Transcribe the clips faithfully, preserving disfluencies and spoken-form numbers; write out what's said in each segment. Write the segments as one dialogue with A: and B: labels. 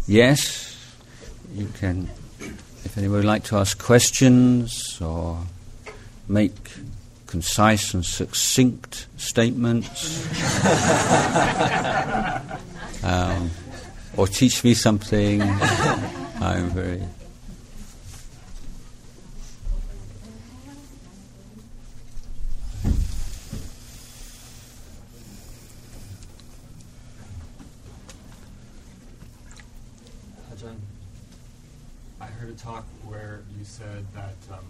A: yes, you can. If anyone would like to ask questions or make concise and succinct statements, um, or teach me something, I'm very...
B: I heard a talk where you said that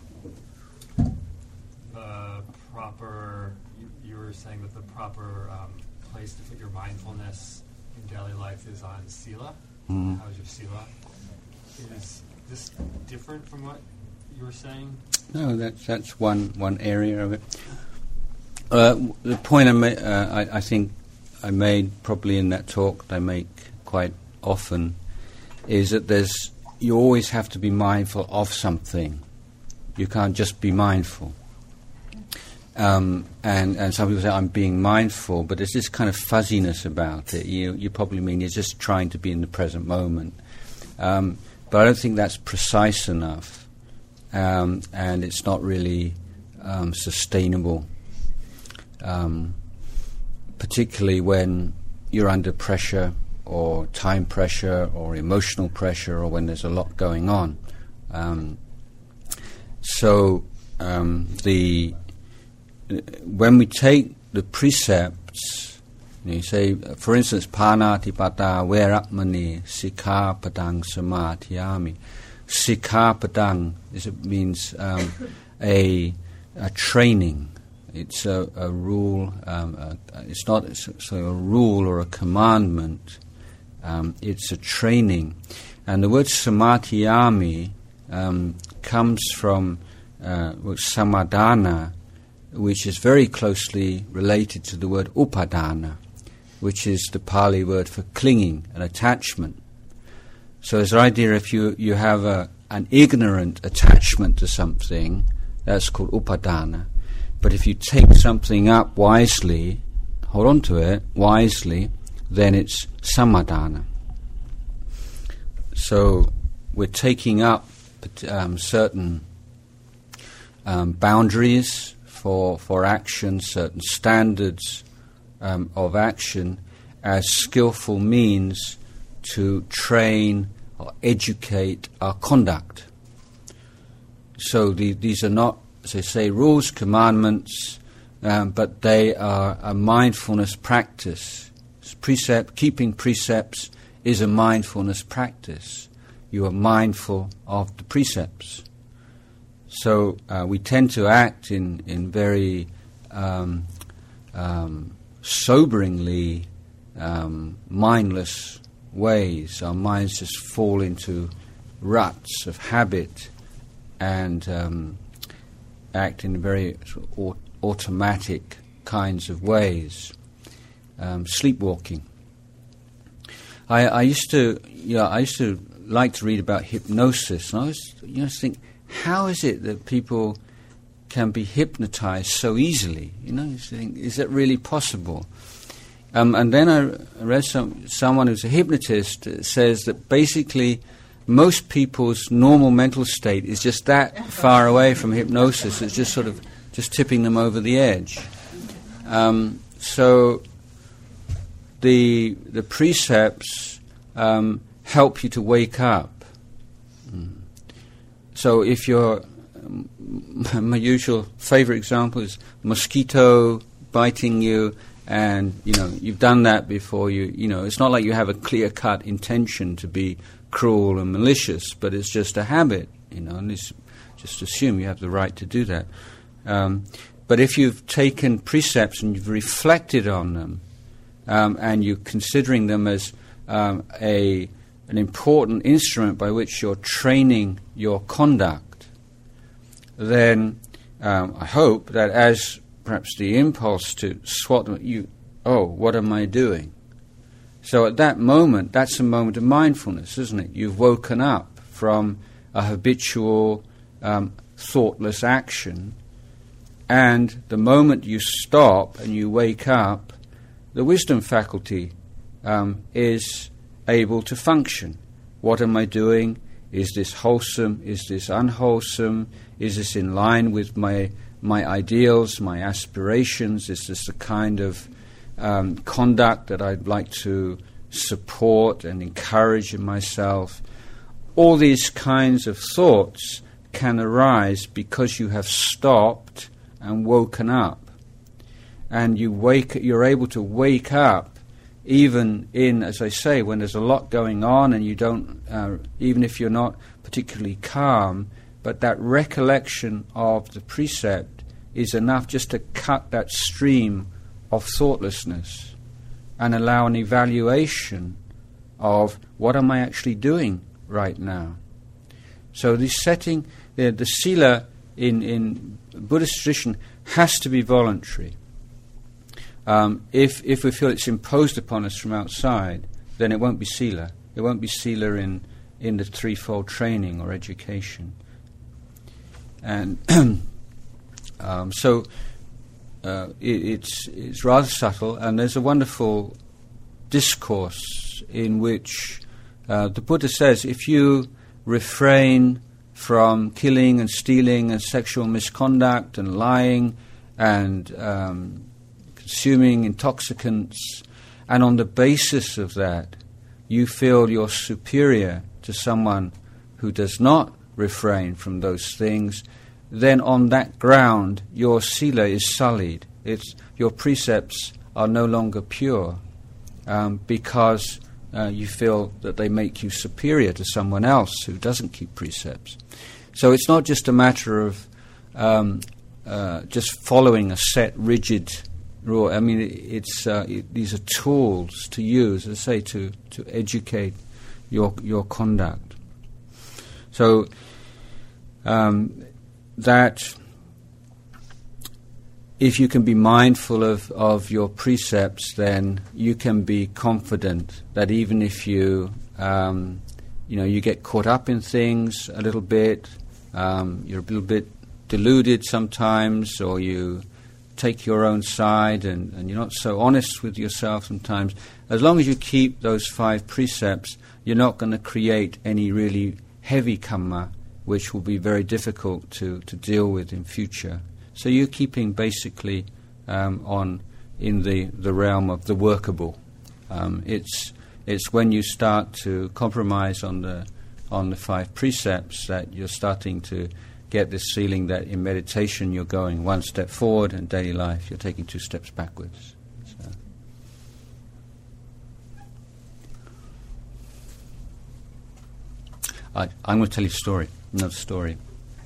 B: um, the proper, you, you were saying that the proper um, place to put your mindfulness in daily life is on sila.
A: Mm.
B: How's your sila? Is this different from what you were saying?
A: No, that's that's one one area of it. Uh, the point I, ma- uh, I, I think I made probably in that talk that I make quite often is that there's you always have to be mindful of something. You can't just be mindful. Um, and, and some people say, I'm being mindful, but there's this kind of fuzziness about it. You, you probably mean you're just trying to be in the present moment. Um, but I don't think that's precise enough. Um, and it's not really um, sustainable, um, particularly when you're under pressure or time pressure or emotional pressure or when there's a lot going on. Um, so um, the uh, when we take the precepts, you, know, you say, for instance, Panatipata Veramani Sikkhapadang Samadhiyami. Sikkhapadang is, it means um, a, a training. It's a, a rule. Um, a, it's not so a rule or a commandment. Um, it's a training. And the word samadhiyami um, comes from uh, samadhana, which is very closely related to the word upadana, which is the Pali word for clinging and attachment. So there's the idea if you, you have a, an ignorant attachment to something, that's called upadana. But if you take something up wisely, hold on to it wisely, then it's samadhana. So we're taking up um, certain um, boundaries for for action, certain standards um, of action as skillful means to train or educate our conduct. So the, these are not, as I say, rules, commandments, um, but they are a mindfulness practice. Precept, keeping precepts is a mindfulness practice. You are mindful of the precepts. So uh, we tend to act in, in very um, um, soberingly um, mindless ways. Our minds just fall into ruts of habit and um, act in very sort of aut- automatic kinds of ways. Um, sleepwalking. I, I used to, yeah, I used to like to read about hypnosis, and I was, you know, think, how is it that people can be hypnotized so easily? You know, you think, is that really possible? Um, and then I read some someone who's a hypnotist uh, says that basically most people's normal mental state is just that far away from hypnosis. It's just sort of just tipping them over the edge. Um, so. The the precepts um, help you to wake up. Mm. So if you're, um, my usual favorite example is mosquito biting you, and you know you've done that before. You you know it's not like you have a clear-cut intention to be cruel and malicious, but it's just a habit. You know, and it's, just assume you have the right to do that. Um, but if you've taken precepts and you've reflected on them. Um, and you're considering them as um, a an important instrument by which you're training your conduct, then um, I hope that as perhaps the impulse to swat them, you, oh, what am I doing? So at that moment, that's a moment of mindfulness, isn't it? You've woken up from a habitual, um, thoughtless action, and the moment you stop and you wake up, the wisdom faculty um, is able to function. what am I doing? Is this wholesome? Is this unwholesome? Is this in line with my my ideals, my aspirations? Is this the kind of um, conduct that I'd like to support and encourage in myself? All these kinds of thoughts can arise because you have stopped and woken up. And you wake, you're able to wake up even in, as I say, when there's a lot going on and you don't, uh, even if you're not particularly calm, but that recollection of the precept is enough just to cut that stream of thoughtlessness and allow an evaluation of what am I actually doing right now. So the setting, the, the sila in, in Buddhist tradition has to be voluntary. Um, if if we feel it's imposed upon us from outside, then it won't be sila. It won't be sila in, in the threefold training or education. And um, so uh, it, it's it's rather subtle, and there's a wonderful discourse in which uh, the Buddha says, if you refrain from killing and stealing and sexual misconduct and lying and um, consuming intoxicants, and on the basis of that you feel you're superior to someone who does not refrain from those things, then on that ground your sila is sullied. It's, your precepts are no longer pure um, because uh, you feel that they make you superior to someone else who doesn't keep precepts. So it's not just a matter of um, uh, just following a set, rigid rule. I mean, it, it's uh, it, these are tools to use, as I say, to, to educate your your conduct. So um, that if you can be mindful of, of your precepts, then you can be confident that even if you um, you know you get caught up in things a little bit, um, you're a little bit deluded sometimes, or you take your own side and, and you're not so honest with yourself sometimes, as long as you keep those five precepts, you're not going to create any really heavy kamma, which will be very difficult to, to deal with in future. So you're keeping basically um, on in the, the realm of the workable. Um, it's it's when you start to compromise on the on the five precepts that you're starting to get this feeling that in meditation you're going one step forward, and daily life you're taking two steps backwards. So. I, I'm going to tell you a story, another story.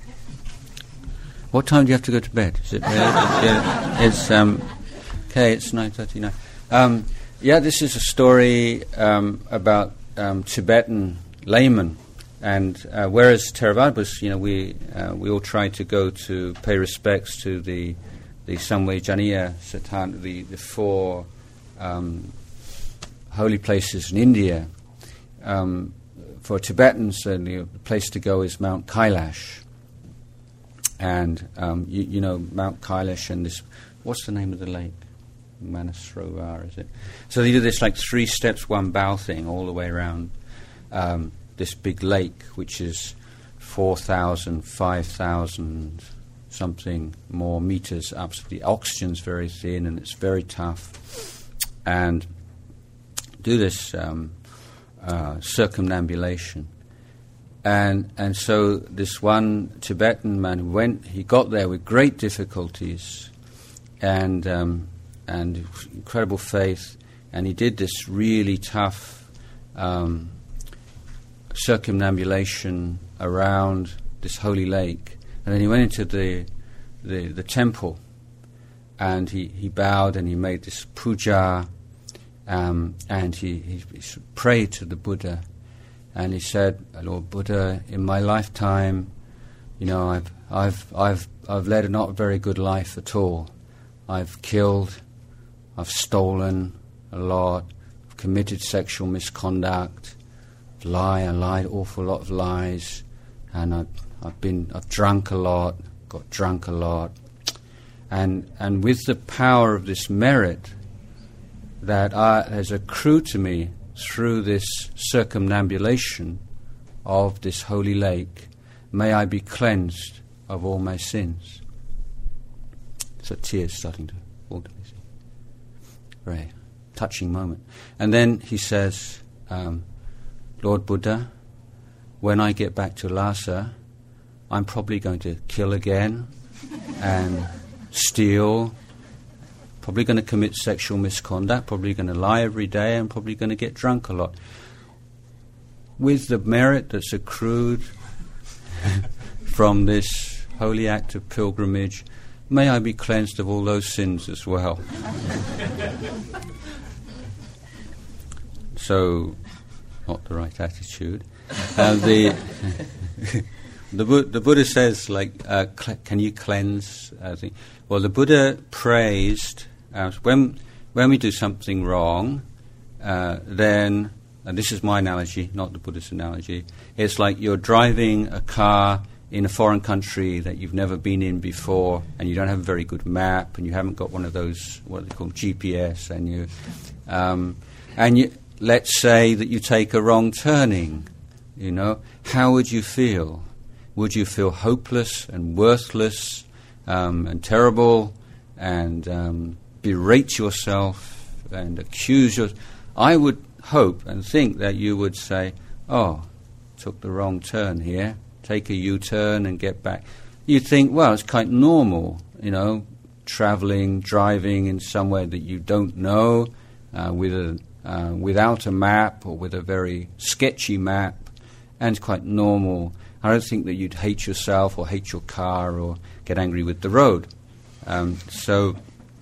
A: What time do you have to go to bed? Is it? Uh, it's um, okay. It's nine thirty-nine. Um, yeah, this is a story um, about um, Tibetan laymen. And uh, whereas Theravada, you know, we uh, we all try to go to pay respects to the the Samvay Janiya Satan, the the four um, holy places in India. Um, for Tibetans, uh, the place to go is Mount Kailash. And um, you, you know Mount Kailash and this. What's the name of the lake? Manasrovar, is it? So they do this like three steps, one bow thing all the way around. Um, this big lake, which is four thousand, five thousand something more meters up. So the oxygen's very thin and it's very tough. And do this um, uh, circumambulation. And and so this one Tibetan man who went, he got there with great difficulties and um, and incredible faith, and he did this really tough um circumambulation around this holy lake, and then he went into the the, the temple, and he, he bowed and he made this puja, um, and he, he, he prayed to the Buddha, and he said, "Lord Buddha, in my lifetime, you know, I've I've I've I've led a not very good life at all. I've killed, I've stolen a lot, I've committed sexual misconduct." Lie, I lied an awful lot of lies, and I've, I've been, I've drunk a lot, got drunk a lot, and and with the power of this merit that I, has accrued to me through this circumambulation of this holy lake, may I be cleansed of all my sins. So tears starting to fall to his eyes. Very touching moment. And then he says, um, Lord Buddha, when I get back to Lhasa, I'm probably going to kill again and steal, probably going to commit sexual misconduct, probably going to lie every day, and probably going to get drunk a lot. With the merit that's accrued from this holy act of pilgrimage, may I be cleansed of all those sins as well. So, not the right attitude. Uh, the the, Bu- the Buddha says, like, uh, cl- can you cleanse? Uh, the, well, the Buddha praised uh, when when we do something wrong, uh, then, and this is my analogy, not the Buddhist analogy. It's like you're driving a car in a foreign country that you've never been in before, and you don't have a very good map, and you haven't got one of those, what they call G P S, and you, um, and you, let's say that you take a wrong turning, you know, how would you feel? Would you feel hopeless and worthless um, and terrible and um, berate yourself and accuse yourself? I would hope and think that you would say, oh, took the wrong turn here, take a U-turn and get back. You'd think, well, it's quite normal, you know, travelling, driving in somewhere that you don't know, uh, with a, uh, without a map or with a very sketchy map, and it's quite normal. I don't think that you'd hate yourself or hate your car or get angry with the road. Um, so,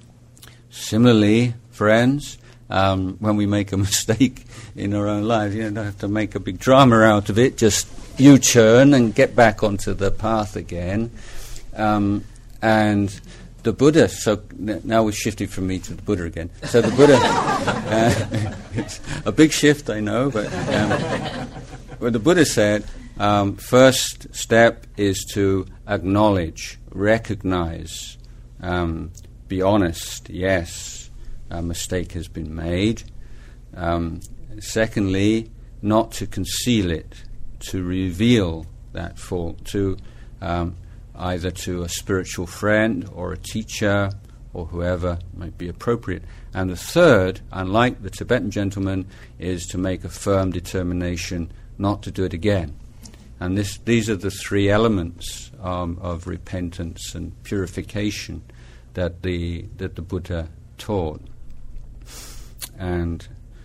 A: similarly, friends, um, when we make a mistake in our own lives, you don't have to make a big drama out of it. Just U-turn and get back onto the path again. Um, and the Buddha, so n- now we've shifted from me to the Buddha again. So the Buddha, uh, it's a big shift, I know, but um, well, the Buddha said, Um, first step is to acknowledge, recognize, um, be honest, yes, a mistake has been made. Um, secondly, not to conceal it, to reveal that fault to um, either to a spiritual friend or a teacher or whoever might be appropriate. And the third, unlike the Tibetan gentleman, is to make a firm determination not to do it again. And this, these are the three elements um, of repentance and purification that the that the Buddha taught. And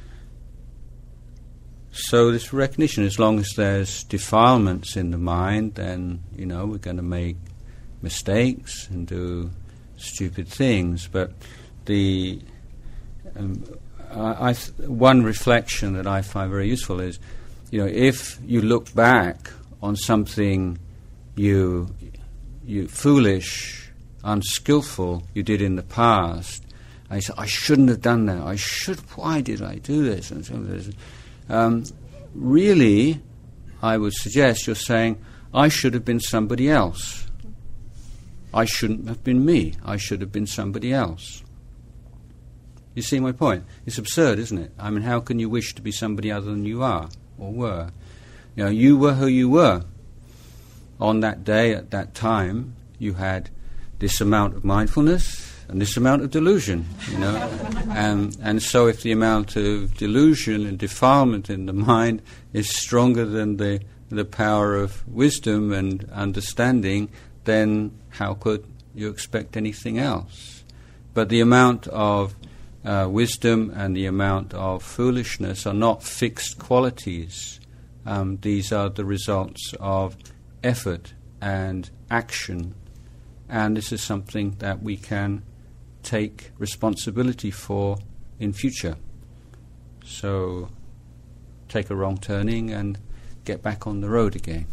A: so this recognition, as long as there's defilements in the mind, then, you know, we're going to make mistakes and do stupid things. But the um, I, I th- one reflection that I find very useful is, you know, if you look back on something you you foolish, unskillful you did in the past, and you say, I shouldn't have done that. I should. Why did I do this? And so this. Um, really, I would suggest you're saying, I should have been somebody else. I shouldn't have been me. I should have been somebody else. You see my point? It's absurd, isn't it? I mean, how can you wish to be somebody other than you are or were? You know, you were who you were. On that day, at that time, you had this amount of mindfulness and this amount of delusion, you know. and, and so if the amount of delusion and defilement in the mind is stronger than the, the power of wisdom and understanding, then how could you expect anything else? But the amount of uh, wisdom and the amount of foolishness are not fixed qualities. Um, these are the results of effort and action, and this is something that we can take responsibility for in future. So take a wrong turning and get back on the road again.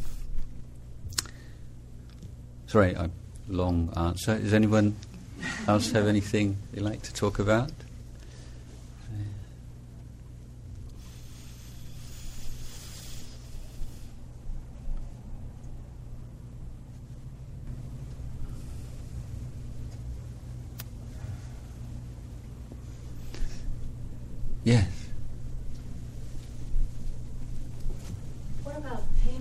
A: Sorry, a long answer. Does anyone else have anything they'd like to talk about? Yes.
C: What about pain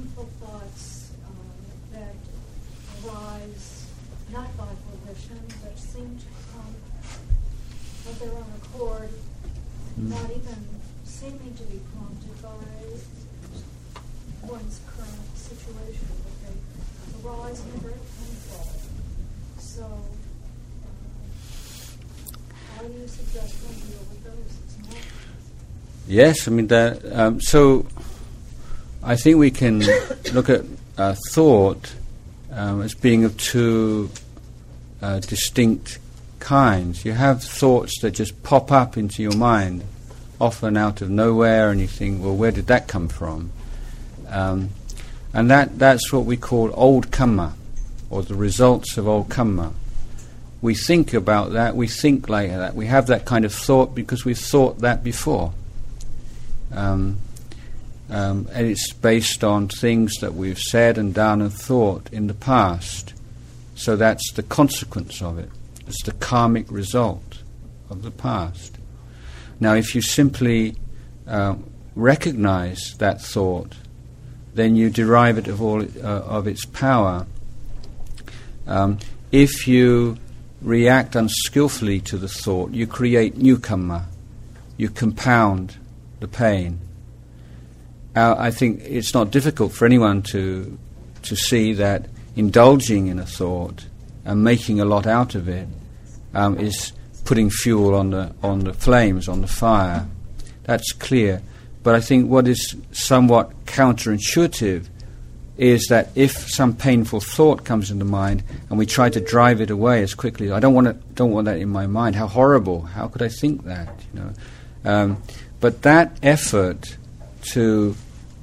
C: of their own accord, mm. not even seeming to be prompted by one's current situation, but they arise and are very painful. So, uh, how do you suggest one deal with those? It's not.
A: Yes, I mean that. Um, so, I think we can look at uh, thought um, as being of two uh, distinct kinds. You have thoughts that just pop up into your mind, often out of nowhere, and you think, well, where did that come from? Um, and that that's what we call old kamma, or the results of old kamma. We think about that, we think like that, we have that kind of thought because we've thought that before. Um, um, and it's based on things that we've said and done and thought in the past. So that's the consequence of it. It's the karmic result of the past. Now, if you simply uh, recognize that thought, then you derive it of all uh, of its power. Um, if you react unskillfully to the thought, you create new kamma. You compound the pain. Uh, I think it's not difficult for anyone to to see that indulging in a thought and making a lot out of it um, is putting fuel on the on the flames, on the fire. That's clear. But I think what is somewhat counterintuitive is that if some painful thought comes into mind and we try to drive it away as quickly, I don't want it, don't want that in my mind. How horrible! How could I think that? You know. Um, but that effort to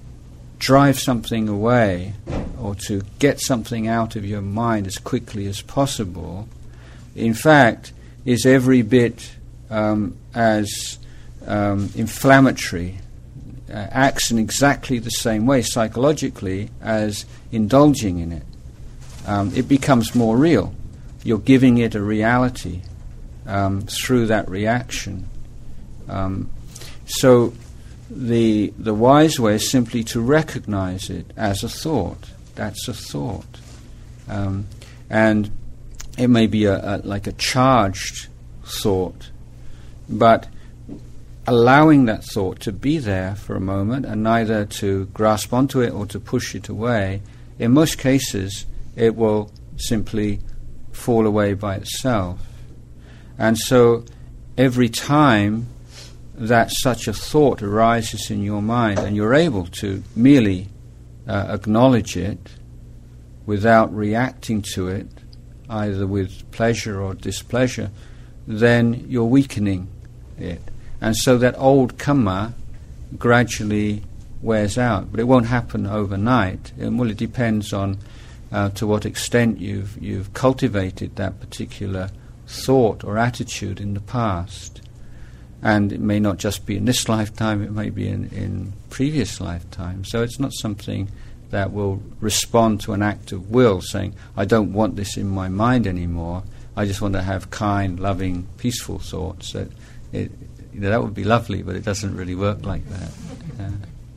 A: drive something away or to get something out of your mind as quickly as possible, in fact, is every bit um, as um, inflammatory, uh, acts in exactly the same way psychologically as indulging in it. Um, it becomes more real. You're giving it a reality um, through that reaction. Um, so the the wise way is simply to recognize it as a thought. That's a thought. Um, and it may be a, a, like a charged thought, but allowing that thought to be there for a moment and neither to grasp onto it or to push it away, in most cases it will simply fall away by itself. And so every time that such a thought arises in your mind and you're able to merely uh, acknowledge it without reacting to it, either with pleasure or displeasure, then you're weakening it. And so that old kamma gradually wears out. But it won't happen overnight. It, well, it depends on uh, to what extent you've, you've cultivated that particular thought or attitude in the past. And it may not just be in this lifetime, it may be in, in previous lifetimes. So it's not something that will respond to an act of will, saying, I don't want this in my mind anymore, I just want to have kind, loving, peaceful thoughts. That, it, you know, that would be lovely, but it doesn't really work like that. Yeah.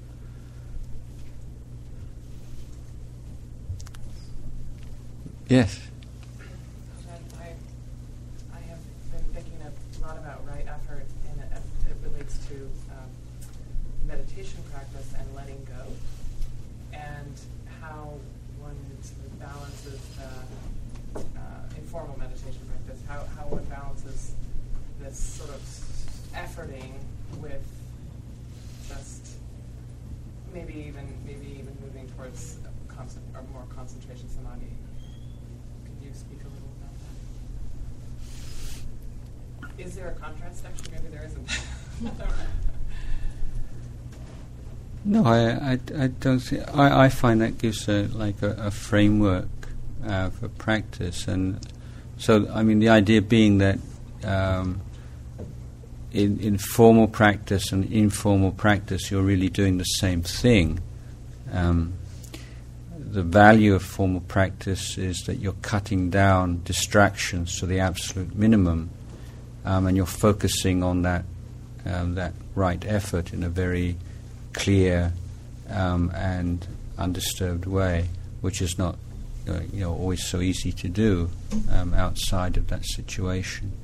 A: Yes?
D: Meditation practice and letting go, and how one sort of balances the uh, informal meditation practice, how, how one balances this sort of efforting with just maybe even maybe even moving towards a concent- or more concentration samadhi. Could you speak a little about that? Is there a contrast? Actually, maybe there isn't.
A: No, I, I, I don't think. I, I find that gives a, like a, a framework uh, for practice, and so I mean the idea being that um, in, in formal practice and informal practice, you're really doing the same thing. Um, the value of formal practice is that you're cutting down distractions to the absolute minimum, um, and you're focusing on that um, that right effort in a very clear um, and undisturbed way, which is not uh, you know always so easy to do um, outside of that situation.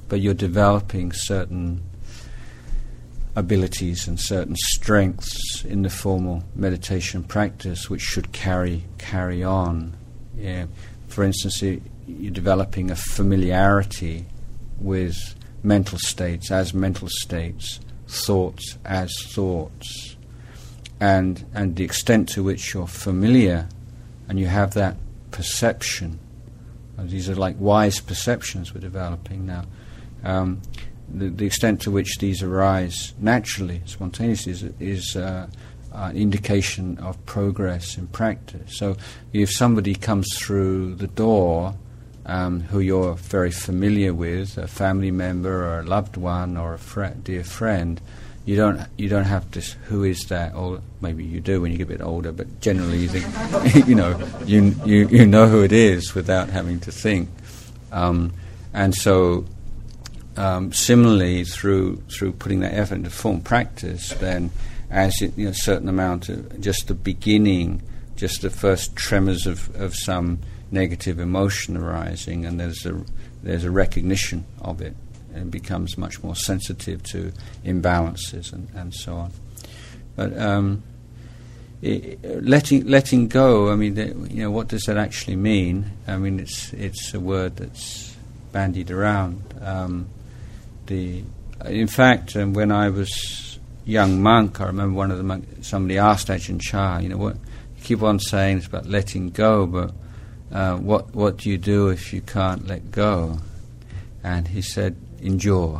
A: but you're developing certain abilities and certain strengths in the formal meditation practice which should carry carry on. Yeah. For instance, you, you're developing a familiarity with mental states as mental states, thoughts as thoughts, and and the extent to which you're familiar and you have that perception. And these are like wise perceptions we're developing now. Um, the, the extent to which these arise naturally, spontaneously, is, is uh, an indication of progress in practice. So if somebody comes through the door um, who you're very familiar with, a family member or a loved one or a fr- dear friend, you don't you don't have to, who is that? Or maybe you do when you get a bit older, but generally you think, you know, you, you you know who it is without having to think. Um, and so um, similarly, through through putting that effort into form practice, then as it, you know, a certain amount of just the beginning, just the first tremors of, of some negative emotion arising, and there's a there's a recognition of it, and becomes much more sensitive to imbalances and, and so on. But um, it, letting letting go, I mean, the, you know, what does that actually mean? I mean, it's it's a word that's bandied around. Um, the in fact, um, when I was young monk, I remember one of the monk, somebody asked Ajahn Chah, you know, what you keep on saying it's about letting go, but uh, what what do you do if you can't let go? And he said, endure.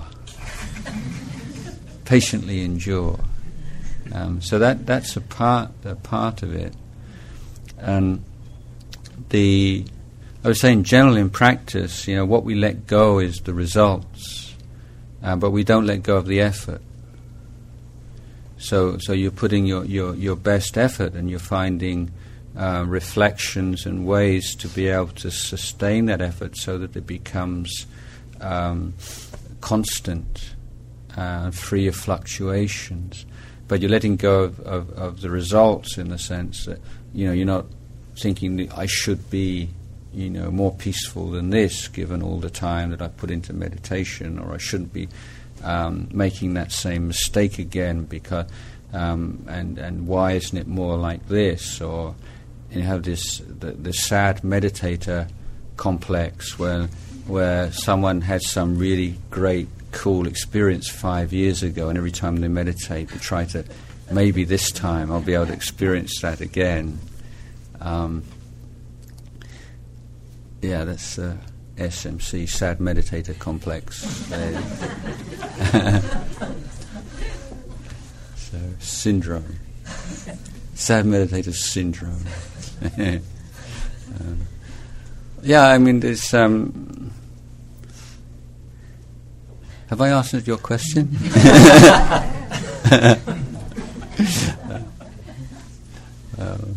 A: Patiently endure. Um, so that that's a part a part of it. And the I was saying, generally in practice, you know, what we let go is the results, uh, but we don't let go of the effort. So so you're putting your your, your best effort, and you're finding uh, reflections and ways to be able to sustain that effort so that it becomes Um, constant, uh, free of fluctuations, but you're letting go of, of, of the results in the sense that, you know, you're not thinking that I should be, you know, more peaceful than this given all the time that I put into meditation, or I shouldn't be um, making that same mistake again because um, and and why isn't it more like this? Or you have this the, the sad meditator complex where where someone had some really great, cool experience five years ago, and every time they meditate, they try to, maybe this time I'll be able to experience that again. Um, yeah, that's uh, S M C, Sad Meditator Complex. So, syndrome. Sad Meditator Syndrome. um, yeah, I mean, there's... Um, Have I answered your question? um,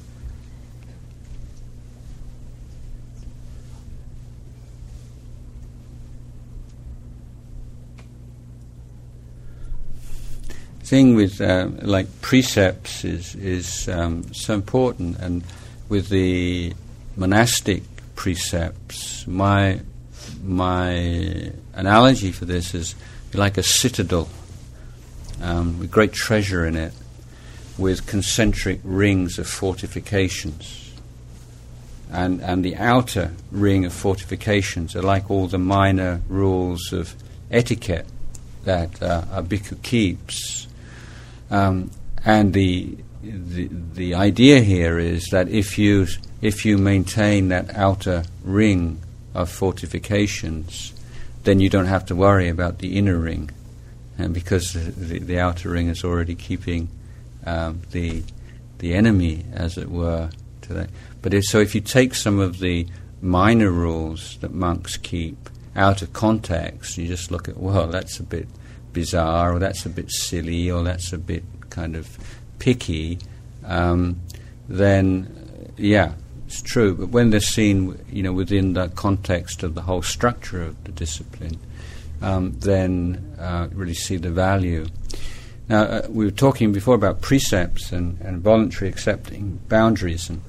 A: thing with uh, like precepts is is um, so important, and with the monastic precepts, my my analogy for this is like a citadel um, with great treasure in it, with concentric rings of fortifications, and and the outer ring of fortifications are like all the minor rules of etiquette that uh, a bhikkhu keeps, um, and the, the the idea here is that if you if you maintain that outer ring of fortifications, then you don't have to worry about the inner ring, and because the, the outer ring is already keeping um, the the enemy, as it were, to that. But if, so if you take some of the minor rules that monks keep out of context, you just look at, well, that's a bit bizarre, or that's a bit silly, or that's a bit kind of picky, um, then yeah, it's true. But when they're seen, you know, within the context of the whole structure of the discipline, um, then uh, really see the value. Now, uh, we were talking before about precepts and, and voluntary accepting boundaries, and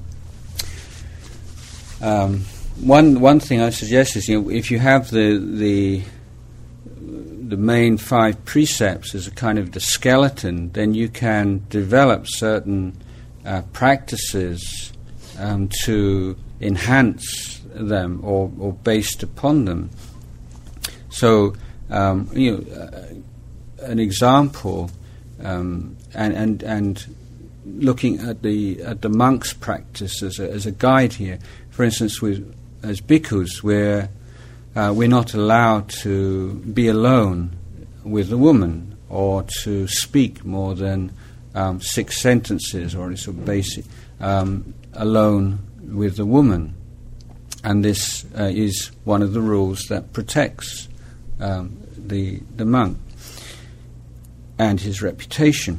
A: um, one one thing I suggest is, you know, if you have the the the main five precepts as a kind of the skeleton, then you can develop certain uh, practices um, to enhance them or, or based upon them. So, um, you know, uh, an example, um, and and and looking at the at the monk's practice as a, as a guide here. For instance, with as bhikkhus, we're uh, we're not allowed to be alone with a woman or to speak more than um, six sentences or sort of basic um, alone with the woman, and this uh, is one of the rules that protects um, the the monk and his reputation.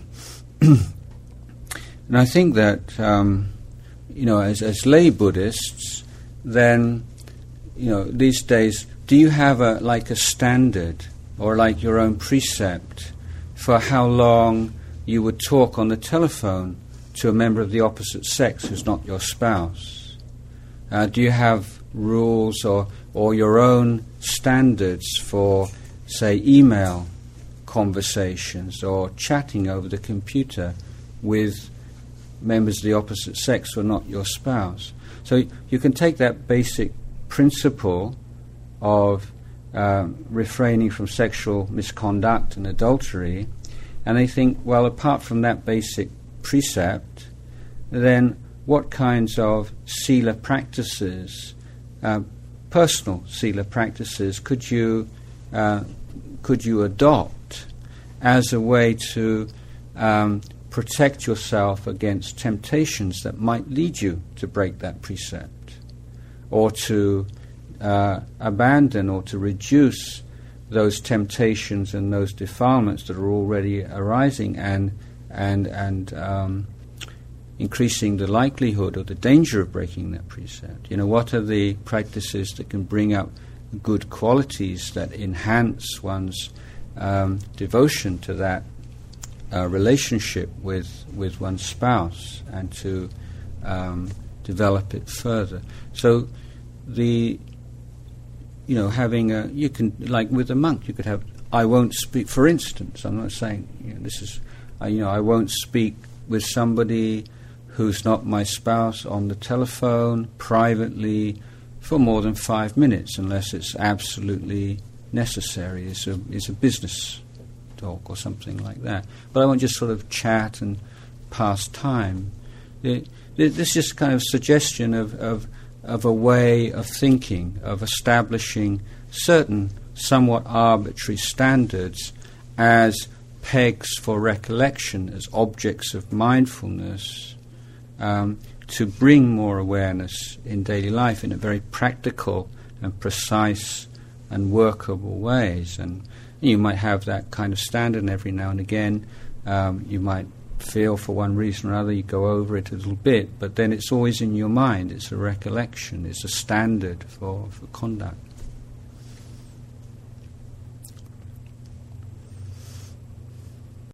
A: And I think that um, you know, as as lay Buddhists, then you know, these days, do you have a like a standard or like your own precept for how long you would talk on the telephone to a member of the opposite sex who's not your spouse? Uh, do you have rules or, or your own standards for, say, email conversations or chatting over the computer with members of the opposite sex who are not your spouse? So you can take that basic principle of um, refraining from sexual misconduct and adultery, and they think, well, apart from that basic precept, then what kinds of sila practices, uh, personal sila practices, could you uh, could you adopt as a way to um, protect yourself against temptations that might lead you to break that precept, or to uh, abandon or to reduce those temptations and those defilements that are already arising, and and and um, increasing the likelihood or the danger of breaking that precept. You know, what are the practices that can bring up good qualities that enhance one's um, devotion to that uh, relationship with with one's spouse, and to um, develop it further? So the you know, having a, you can, like with a monk, you could have, I won't speak, for instance, I'm not saying, you know, this is, uh, you know, I won't speak with somebody who's not my spouse on the telephone, privately, for more than five minutes, unless it's absolutely necessary. It's a, it's a business talk or something like that. But I won't just sort of chat and pass time. It, it, this is kind of suggestion of, of of a way of thinking, of establishing certain somewhat arbitrary standards as pegs for recollection, as objects of mindfulness, um, to bring more awareness in daily life in a very practical and precise and workable ways. And you might have that kind of standard, and every now and again um, you might feel for one reason or another, you go over it a little bit, but then it's always in your mind, it's a recollection, it's a standard for, for conduct.